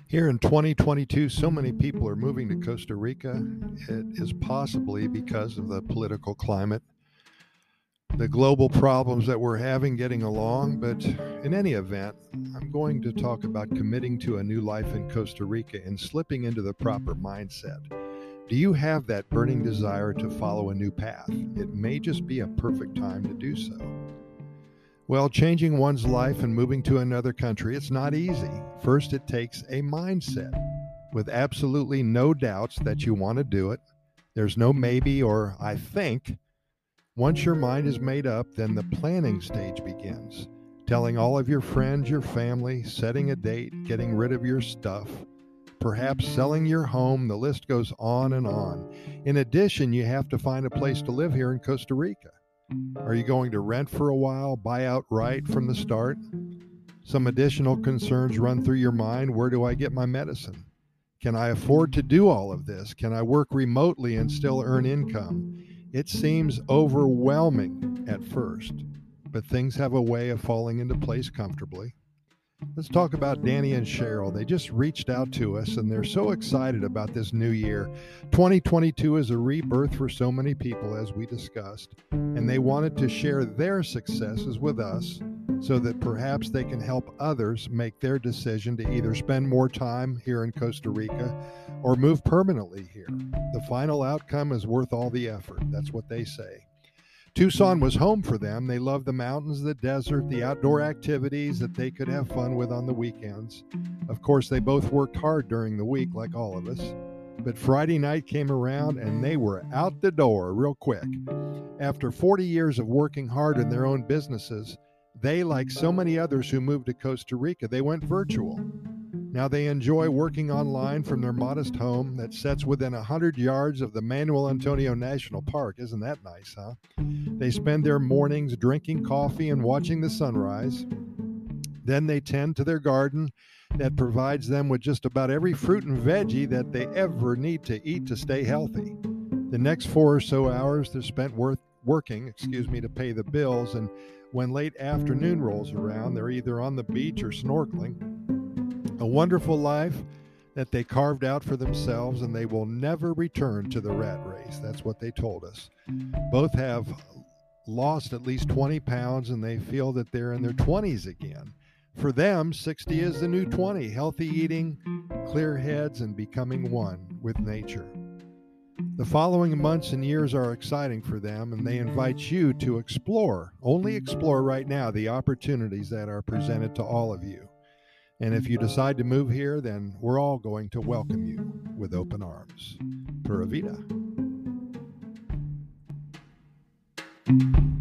Here in 2022, so many people are moving to Costa Rica. It is possibly because of the political climate, the global problems that we're having getting along. But in any event, I'm going to talk about committing to a new life in Costa Rica and slipping into the proper mindset. Do you have that burning desire to follow a new path? It may just be a perfect time to do so. Well, changing one's life and moving to another country, it's not easy. First, it takes a mindset with absolutely no doubts that you want to do it. There's no maybe or I think. Once your mind is made up, then the planning stage begins. Telling all of your friends, your family, setting a date, getting rid of your stuff, perhaps selling your home. The list goes on and on. In addition, you have to find a place to live here in Costa Rica. Are you going to rent for a while, buy outright from the start? Some additional concerns run through your mind. Where do I get my medicine? Can I afford to do all of this? Can I work remotely and still earn income? It seems overwhelming at first, but things have a way of falling into place comfortably. Let's talk about Danny and Cheryl. They just reached out to us and they're so excited about this new year. 2022 is a rebirth for so many people, as we discussed, and they wanted to share their successes with us so that perhaps they can help others make their decision to either spend more time here in Costa Rica or move permanently here. The final outcome is worth all the effort. That's what they say. Tucson was home for them. They loved the mountains, the desert, the outdoor activities that they could have fun with on the weekends. Of course, they both worked hard during the week, like all of us. But Friday night came around and they were out the door real quick. After 40 years of working hard in their own businesses, they, like so many others who moved to Costa Rica, they went virtual. Now they enjoy working online from their modest home that sits within 100 yards of the Manuel Antonio National Park. Isn't that nice, huh? They spend their mornings drinking coffee and watching the sunrise. Then they tend to their garden that provides them with just about every fruit and veggie that they ever need to eat to stay healthy. The next 4 or so hours they're spent working to pay the bills, and when late afternoon rolls around, they're either on the beach or snorkeling. A wonderful life that they carved out for themselves, and they will never return to the rat race. That's what they told us. Both have lost at least 20 pounds, and they feel that they're in their 20s again. For them, 60 is the new 20. Healthy eating, clear heads, and becoming one with nature. The following months and years are exciting for them, and they invite you to explore, only explore right now, the opportunities that are presented to all of you. And if you decide to move here, then we're all going to welcome you with open arms. Pura Vida.